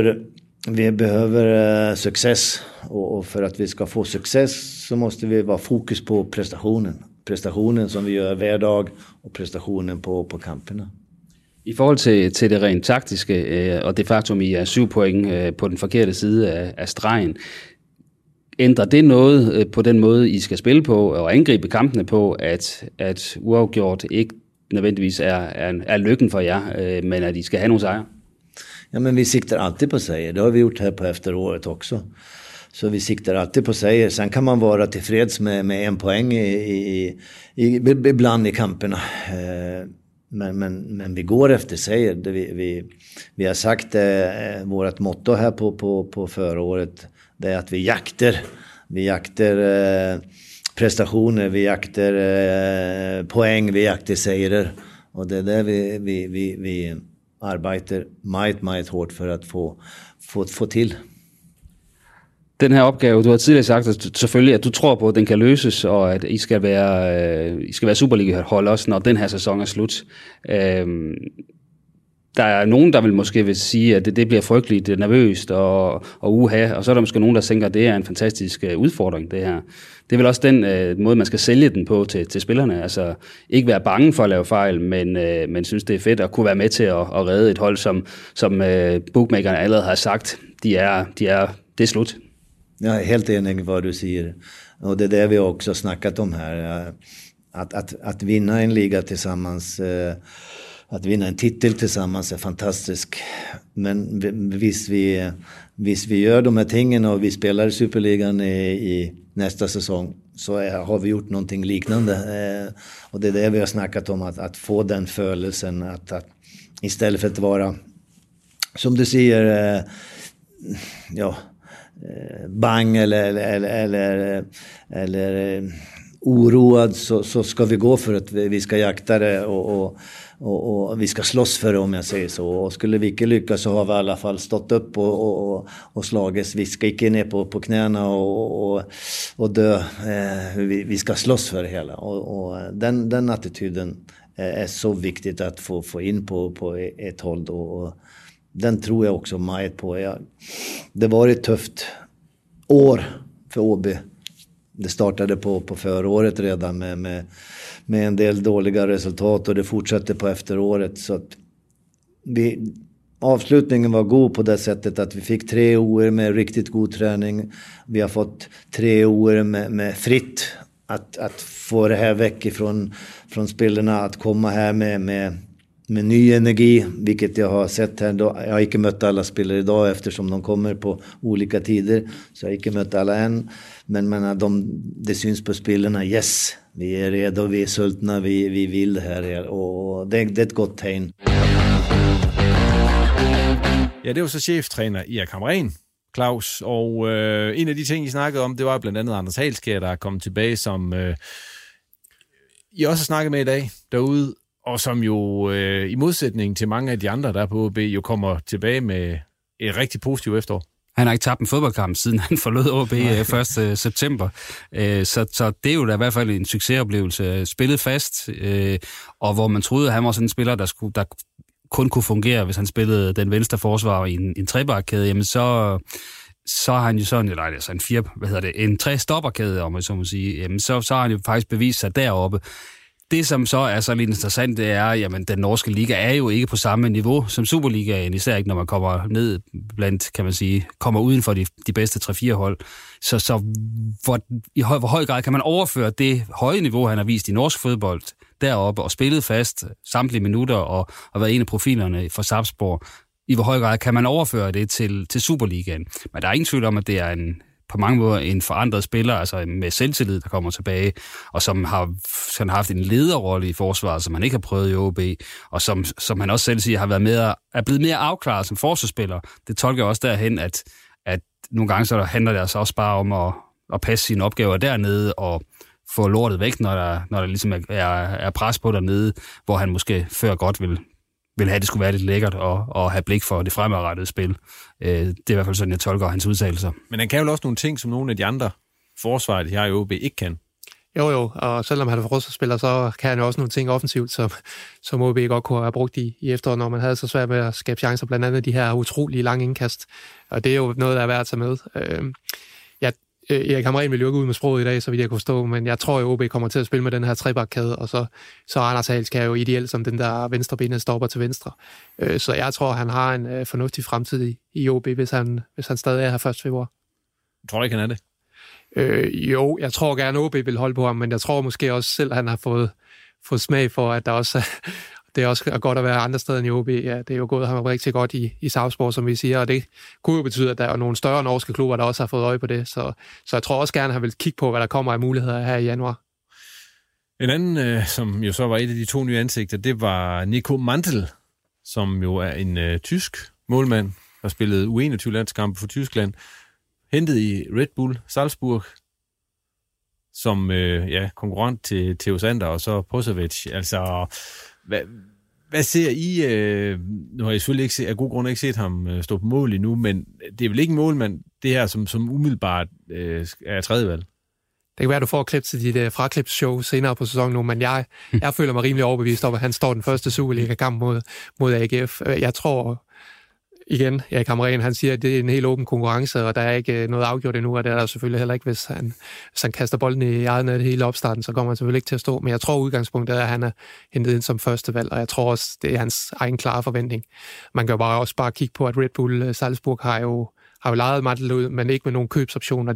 behöver success, och för att vi ska få success så måste vi vara fokus på prestationen som vi gör hver dag, och prestationen på kamperna. I forhold til det rent taktiske, og det faktum, I er 7 point på den forkerte side af stregen, ændrer det noget på den måde, I skal spille på og angribe kampene på, at uafgjort ikke nødvendigvis er lykken for jer, men at I skal have nogle sejre? Ja, men vi siktar alltid på sejr. Det har vi gjort här på efteråret också. Så vi siktar alltid på sejr. Sen kan man vara tillfreds med 1 poäng ibland i kamperna. Men vi går efter sejr. Vi har sagt vårt motto här på förra året, det är att vi jakter prestationer, vi jakter poäng, vi jakter sejrer, och det är där vi arbetar meget hårdt for at få til. Den her opgave, du har tidligere sagt, at selvfølgelig, at du tror på, at den kan løses, og at I skal være Superliga-hold også, når den her sæson er slut. der er nogen, der vil måske vil sige, at det bliver frygteligt nervøst og uha, og så er der måske nogen, der tænker, at det er en fantastisk udfordring, det her. Det er vel også den måde, man skal sælge den på til spillerne. Altså ikke være bange for at lave fejl, men synes, det er fedt at kunne være med til at redde et hold, som bookmakerne allerede har sagt, det er slut. Jag är helt enig med vad du säger. Och det är det vi också snackat om här. Att vinna en liga tillsammans, att vinna en titel tillsammans är fantastiskt. Men hvis vi gör de här tingen och vi spelar i Superligan i nästa säsong, så har vi gjort någonting liknande. Och det är det vi har snackat om, att få den födelsen, att istället för att vara, som du säger, bang eller oroad, så ska vi gå för att vi ska jakta det och vi ska slåss för det, om jag säger så. Och skulle vi inte lyckas, så har vi i alla fall stått upp och slagits. Vi ska inte ner på knäna och dö. Vi ska slåss för det hela. Och den attityden är så viktigt att få in på ett håll då. Och den tror jag också Majt på. Det var ett tufft år för OB. Det startade på föråret redan med en del dåliga resultat, och det fortsatte på efteråret. Så att avslutningen var god på det sättet att vi fick 3 år med riktigt god träning. Vi har fått 3 år med fritt att få det här väck från spelarna, att komma här med ny energi, vilket jag har sett här. Jag har inte mött alla spelare idag eftersom de kommer på olika tider, så jag har inte mött alla än. Men det syns på spelarna, yes, vi är redo, vi är sultna, vi vill det här, och det är ett gott tegn. Ja, det var så cheftræner Erik Hamrén, Claus, og en af de ting, I snakkede om, det var blandt andet Anders Halskjær, der er kommet tilbage, som I også har snakket med i dag derude, og som jo i modsætning til mange af de andre, der er på OB, jo kommer tilbage med et rigtig positivt efterår. Han har ikke tabt en fodboldkamp, siden han forlod OB 1. september. Så det er jo da i hvert fald en succesoplevelse. Spillet fast, og hvor man troede, at han var sådan en spiller, der kun kunne fungere, hvis han spillede den venstre forsvar i en trebakkæde, jamen så har han jo sådan, eller altså en tre-stopperkæde, om man så må sige, jamen så har han jo faktisk bevist sig deroppe. Det, som så er så lidt interessant, det er, jamen den norske liga er jo ikke på samme niveau som Superligaen, især ikke når man kommer ned blandt, kan man sige, kommer uden for de bedste 3-4 hold. Så hvor høj grad kan man overføre det høje niveau, han har vist i norsk fodbold deroppe, og spillet fast samtlige minutter og været en af profilerne for Sarpsborg. I hvor høj grad kan man overføre det til Superligaen? Men der er ingen tvivl om, at det er på mange måder en forandret spiller, altså med selvtillid, der kommer tilbage, og som har haft en lederrolle i forsvaret, som han ikke har prøvet i OB, og som han også selv siger, er blevet mere afklaret som forsvarsspiller. Det tolker også derhen, at nogle gange så handler det altså også bare om at passe sine opgaver dernede, og få lortet væk, når der ligesom er pres på dernede, hvor han måske før godt vil have, det skulle være lidt lækkert og have blik for det fremadrettede spil. Det er i hvert fald sådan, jeg tolker hans udtalelser. Men han kan jo også nogle ting, som nogle af de andre forsvarer, de her i OB, ikke kan. Jo, og selvom han er forsvarsspiller, så kan han jo også nogle ting offensivt, som OB godt kunne have brugt i efteråret, når man havde så svært med at skabe chancer, blandt andet de her utrolige lange indkast. Og det er jo noget, der er værd at tage med. Erik Hamrén vil jo ikke ud med sproget i dag, så vidt jeg kunne forstå, men jeg tror, at OB kommer til at spille med den her trebakkæde, og så Anders Halskjær er jo ideelt som den der venstrebenede stopper til venstre. Så jeg tror, han har en fornuftig fremtid i OB, hvis han stadig er her 1. februar. Tror du ikke, han er det? Jo, jeg tror gerne, OB vil holde på ham, men jeg tror måske også selv, at han har fået smag for, at der også det er også godt at være andre steder end i OB. Ja, det er jo gået ham rigtig godt i Sarpsborg, som vi siger, og det kunne jo betyde, at der er nogle større norske klubber, der også har fået øje på det. Så jeg tror også gerne, at han vil kigge på, hvad der kommer af muligheder her i januar. En anden, som jo så var et af de 2 nye ansigter, det var Nico Mantel, som jo er en tysk målmand, der spillede U21-landskampe for Tyskland, hentet i Red Bull Salzburg, som konkurrent til Theo Sander og så Posovic. Altså, hvad ser I? Nu har jeg selvfølgelig ikke af god grund ikke set ham stå på mål endnu, men det er vel ikke en målmand, det her, som umiddelbart er tredjevalg? Det kan være, at du får klip til dit fraklipsshow senere på sæsonen nu, men jeg føler mig rimelig overbevist om, at han står den første Superliga-kamp mod AGF. Jeg tror, igen, Erik Hamrén, han siger, at det er en helt åben konkurrence, og der er ikke noget afgjort endnu, og det er der selvfølgelig heller ikke, hvis han kaster bolden i eget net hele opstarten, så kommer han selvfølgelig ikke til at stå. Men jeg tror, udgangspunktet er, at han er hentet ind som første valg, og jeg tror også, det er hans egen klare forventning. Man kan jo også bare kigge på, at Red Bull Salzburg har jo lejet Mantel ud, men ikke med nogen købsoptioner.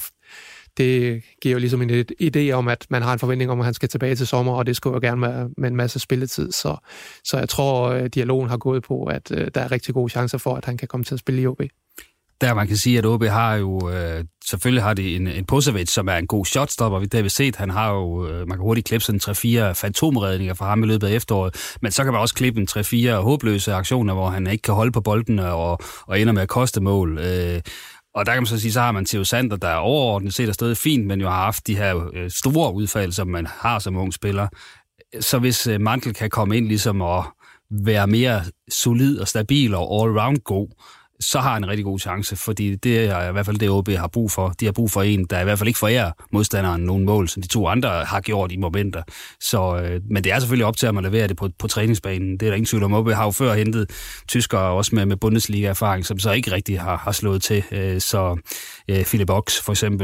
Det giver jo ligesom en idé om, at man har en forventning om, at han skal tilbage til sommer, og det skulle jo gerne med en masse spilletid. Så jeg tror, dialogen har gået på, at der er rigtig gode chancer for, at han kan komme til at spille i OB. Der man kan sige, at OB har jo, selvfølgelig har de en Posevic, som er en god shotstopper. Det har vi set, han har jo, man kan hurtigt klippe sådan 3-4 fantomredninger fra ham i løbet af efteråret, men så kan man også klippe en 3-4 håbløse aktioner, hvor han ikke kan holde på bolden og ender med at koste mål. Og der kan man så sige, så har man Theo Sander, der er overordnet set er stadig fint, men jo har haft de her store udfald, som man har som ung spiller. Så hvis Mantel kan komme ind ligesom og være mere solid og stabil og all-round god, så har han en rigtig god chance, fordi det er i hvert fald det, OB har brug for. De har brug for en, der i hvert fald ikke forærer modstanderen nogle mål, som de to andre har gjort i momenter. Men det er selvfølgelig op til, at man leverer det på træningsbanen. Det er der ingen tvivl om. OB har jo før hentet tyskere også med Bundesliga-erfaring, som så ikke rigtig har slået til. Philip Ox for eksempel.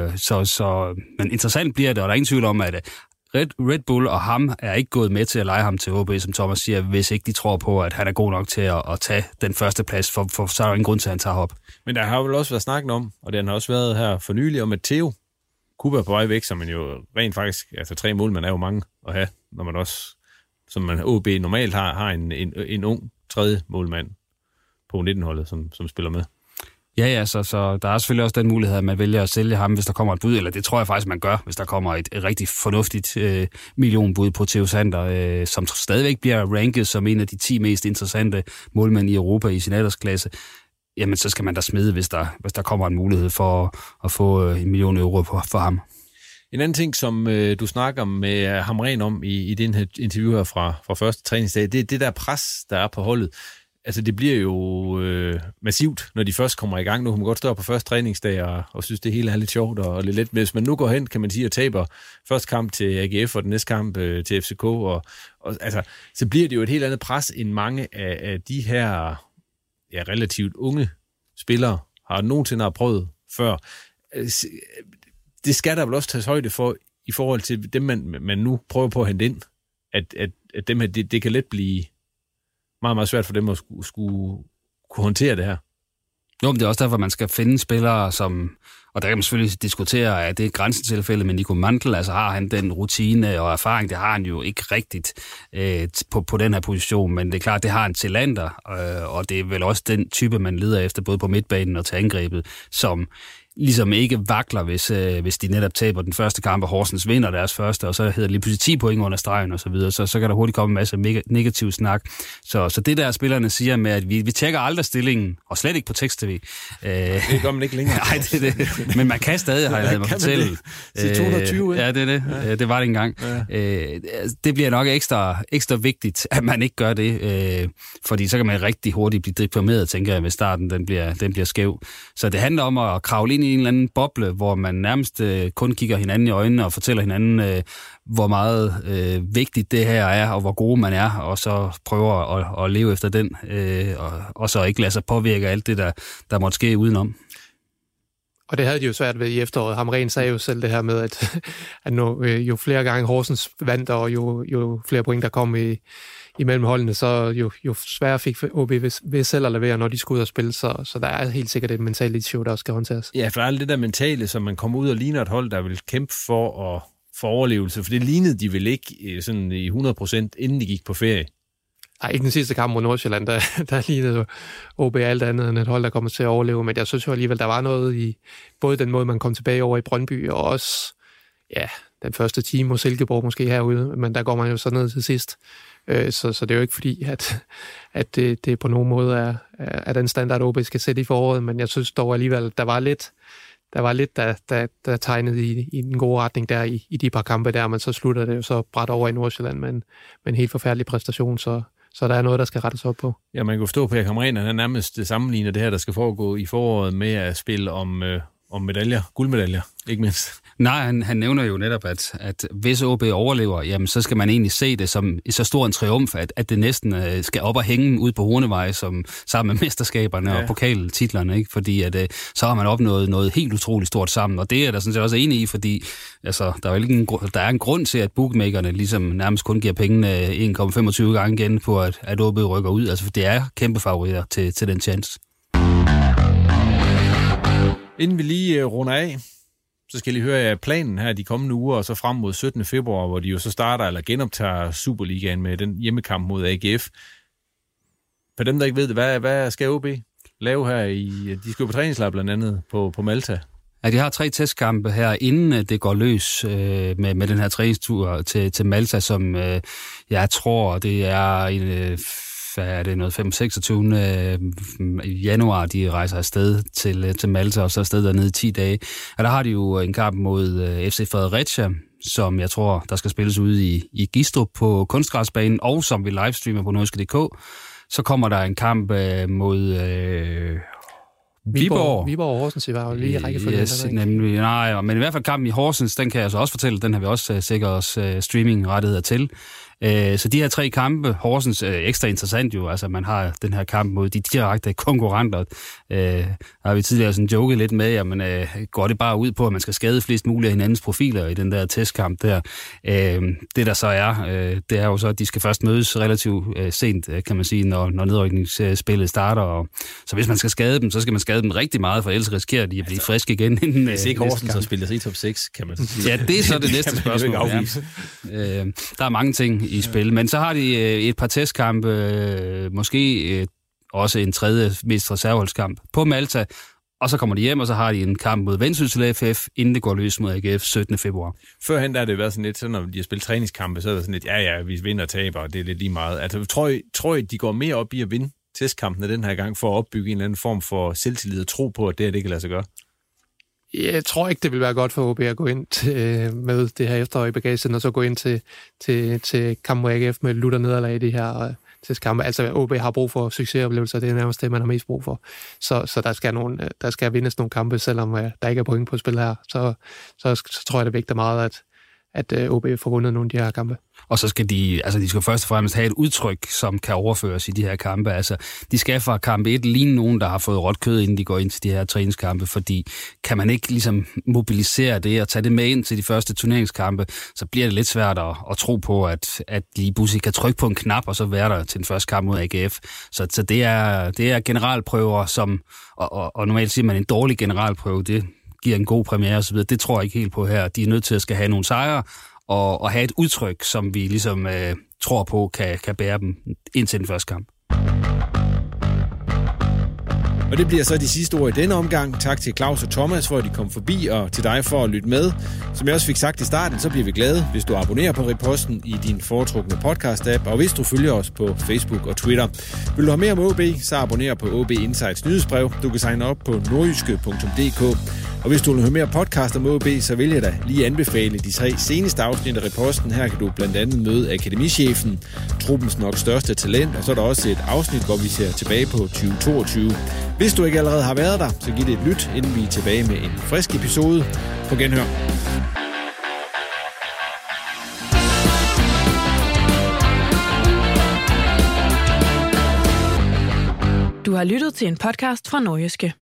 Men interessant bliver det, og der er ingen tvivl om, at Red Bull og ham er ikke gået med til at lege ham til OB, som Thomas siger, hvis ikke de tror på, at han er god nok til at tage den første plads, for så er der ingen grund til, at han tager op. Men der har jo også været snakket om, og den har også været her for nylig, om at Theo kunne være på vej væk, som man jo rent faktisk, altså 3 målmænd er jo mange at have, når man også, som man OB normalt har en ung tredje målmand på 19-holdet, som spiller med. Ja, så der er selvfølgelig også den mulighed, at man vælger at sælge ham, hvis der kommer et bud, eller det tror jeg faktisk, man gør, hvis der kommer et rigtig fornuftigt millionbud på Theo Sander, som stadigvæk bliver ranket som en af de 10 mest interessante målmænd i Europa i sin aldersklasse. Jamen, så skal man da smide, hvis der kommer en mulighed for at få 1 million euro for ham. En anden ting, som du snakker med Hamrén om i den her interview her fra første træningsdag, det er det der pres, der er på holdet. Altså, det bliver jo massivt, når de først kommer i gang. Nu kan man godt stå på første træningsdag og synes, det hele er lidt sjovt og lidt let. Men hvis man nu går hen, kan man sige, og taber første kamp til AGF og den næste kamp til FCK, altså, så bliver det jo et helt andet pres, end mange af de her relativt unge spillere har nogensinde prøvet før. Det skal der vel også tages højde for, i forhold til dem, man nu prøver på at hente ind, at dem her, det kan let blive meget, meget svært for dem at skulle kunne håndtere det her. Jo, men det er også derfor, man skal finde spillere, som, og der kan man selvfølgelig diskutere, at det er grænsetilfælde med Nico Mantel, altså har han den rutine og erfaring, det har han jo ikke rigtigt på den her position, men det er klart, det har han til Lander, og det er vel også den type, man leder efter, både på midtbanen og til angrebet, som ligesom ikke vakler, hvis de netop taber den første kamp, og Horsens vinder deres første, og så hedder det lige pludselig 10 point under stregen og så videre, så kan der hurtigt komme en masse negativ snak. Så det der spillerne siger med, at vi tjekker aldrig stillingen, og slet ikke på tekst-tv. Det gør man ikke længere. Nej, det er det. Men man kan stadig, har jeg ladet mig fortælle. Det 220, ja, det er det. Det var det engang. Ja. Det bliver nok ekstra vigtigt, at man ikke gør det, fordi så kan man rigtig hurtigt blive deprimeret, tænker jeg, hvis starten den bliver skæv. Så det handler om at kravle ind i en eller anden boble, hvor man nærmest kun kigger hinanden i øjnene og fortæller hinanden, hvor meget vigtigt det her er, og hvor gode man er, og så prøver at leve efter den, og så ikke lade sig påvirke alt det, der måtte ske udenom. Og det havde de jo svært ved i efteråret. Hamrén sagde jo selv det her med, at jo flere gange Horsens vandt, og jo flere point, der kom imellem holdene, så jo sværere fik OB ved selv at levere, når de skulle ud og spille. Så der er helt sikkert et mentalt issue, der også skal håndteres. Ja, for alt det der mentale, som man kommer ud og ligner et hold, der vil kæmpe for overlevelse, for det lignede de vel ikke sådan i 100%, inden de gik på ferie. Nej, ikke den sidste kamp mod Nordsjælland, der lignede OB alt andet end et hold, der kommer til at overleve, men jeg synes jo alligevel, der var noget i både den måde, man kom tilbage over i Brøndby, og også den første time mod Silkeborg måske herude, men der går man jo så ned til sidst. Så det er jo ikke fordi, at det på nogen måde er den standard, OB skal sætte i foråret, men jeg synes dog alligevel, der var lidt, der tegnede i den gode retning der i de par kampe der, men så slutter det jo så bræt over i Nordsjælland med en helt forfærdelig præstation, så der er noget, der skal rettes op på. Ja, man kan forstå på, at Hamrén, han nærmest sammenligner det her, der skal foregå i foråret med at spille om om medaljer, guldmedaljer, ikke mindst. Nej, han nævner jo netop, at hvis OB overlever, jamen så skal man egentlig se det som så stor en triumf, at det næsten skal op og hænge ud på Hornevej som sammen med mesterskaberne og pokaltitlerne, ikke? Fordi at så har man opnået noget helt utroligt stort sammen, og det er der sådan set også enig i, fordi altså, der er en grund til, at bookmakerne ligesom nærmest kun giver pengene 1,25 gange igen på, at OB rykker ud, altså for det er kæmpe favoritter til den chance. Inden vi lige runder af, så skal I høre planen her de kommende uger, og så frem mod 17. februar, hvor de jo så starter eller genoptager Superligaen med den hjemmekamp mod AGF. For dem, der ikke ved det, hvad skal OB lave her de skal jo på træningslejr blandt andet på Malta? Ja, de har 3 testkampe her, inden det går løs med den her træningstur til Malta, som jeg tror, det er noget 5-26. januar, de rejser afsted til Malta, og så afsted dernede i 10 dage. Og der har de jo en kamp mod FC Fredericia, som jeg tror, der skal spilles ude i Gistrup på kunstgræsbanen, og som vi livestreamer på nordjyske.dk. Så kommer der en kamp mod Viborg og Horsens var jo lige i rækkefølge. Yes, nemlig. Nej, men i hvert fald kampen i Horsens, den kan jeg så også fortælle, den har vi også sikret os streaming-rettigheder til. Så de her 3 kampe, Horsens ekstra interessant jo, altså man har den her kamp mod de direkte konkurrenter. Har vi tidligere sådan joket lidt med, jamen går det bare ud på, at man skal skade flest muligt af hinandens profiler i den der testkamp der. Det der så det er jo så, at de skal først mødes relativt sent, kan man sige, når nedrykningsspillet starter. Og så hvis man skal skade dem, så skal man skade dem rigtig meget, for ellers risikerer de at blive friske igen. Hvis ikke Horsens så spiller sig i top 6, kan man sige. Ja, det er så det næste spørgsmål. Ja. Der er mange ting i spil, men så har de et par testkampe, måske også en tredje mest reserveholdskamp på Malta, og så kommer de hjem, og så har de en kamp mod Vendsyssel FF, inden det går løs mod AGF 17. februar. Førhen der har det været sådan lidt, så når de har spillet træningskampe, så er det sådan lidt, ja, vi vinder og taber, og det er lidt lige meget. Altså, tror I, de går mere op i at vinde testkampene den her gang, for at opbygge en eller anden form for selvtillid og tro på, at det kan lade sig gøre? Jeg tror ikke, det vil være godt for OB at gå ind med det her efterår i bagagen, og så gå ind til kamp mod AGF med lutter nederlag i de her testkampe. Altså, OB har brug for succesoplevelser, det er nærmest det, man har mest brug for. Så der skal vindes nogle kampe, selvom der ikke er point på spil her. Så tror jeg, det vægter meget, at OB får vundet nogle af de her kampe. Og så skal de skal først og fremmest have et udtryk, som kan overføres i de her kampe. Altså, de skal fra kamp 1 ligne nogen, der har fået råt kød, inden de går ind til de her træningskampe, fordi kan man ikke ligesom mobilisere det og tage det med ind til de første turneringskampe, så bliver det lidt svært at tro på, at lige pludselig kan trykke på en knap, og så være der til den første kamp mod AGF. Så det er generalprøver, som, og normalt siger man en dårlig generalprøve, det giver en god premiere osv. Det tror jeg ikke helt på her. De er nødt til at skal have nogle sejre, og have et udtryk, som vi ligesom tror på, kan bære dem ind til den første kamp. Og det bliver så de sidste ord i denne omgang. Tak til Claus og Thomas for, at de kom forbi, og til dig for at lytte med. Som jeg også fik sagt i starten, så bliver vi glade, hvis du abonnerer på Riposten i din foretrukne podcast-app, og hvis du følger os på Facebook og Twitter. Vil du have mere om OB, så abonner på OB Insights nyhedsbrev. Du kan signe op på nordjyske.dk. Og hvis du vil høre mere podcast om OB, så vil jeg da lige anbefale de 3 seneste afsnit af Riposten. Her kan du blandt andet møde akademichefen, truppens nok største talent, og så er der også et afsnit, hvor vi ser tilbage på 2022. Hvis du ikke allerede har været der, så giv det et lyt, inden vi er tilbage med en frisk episode. På genhør. Du har lyttet til en podcast fra Nordjyske.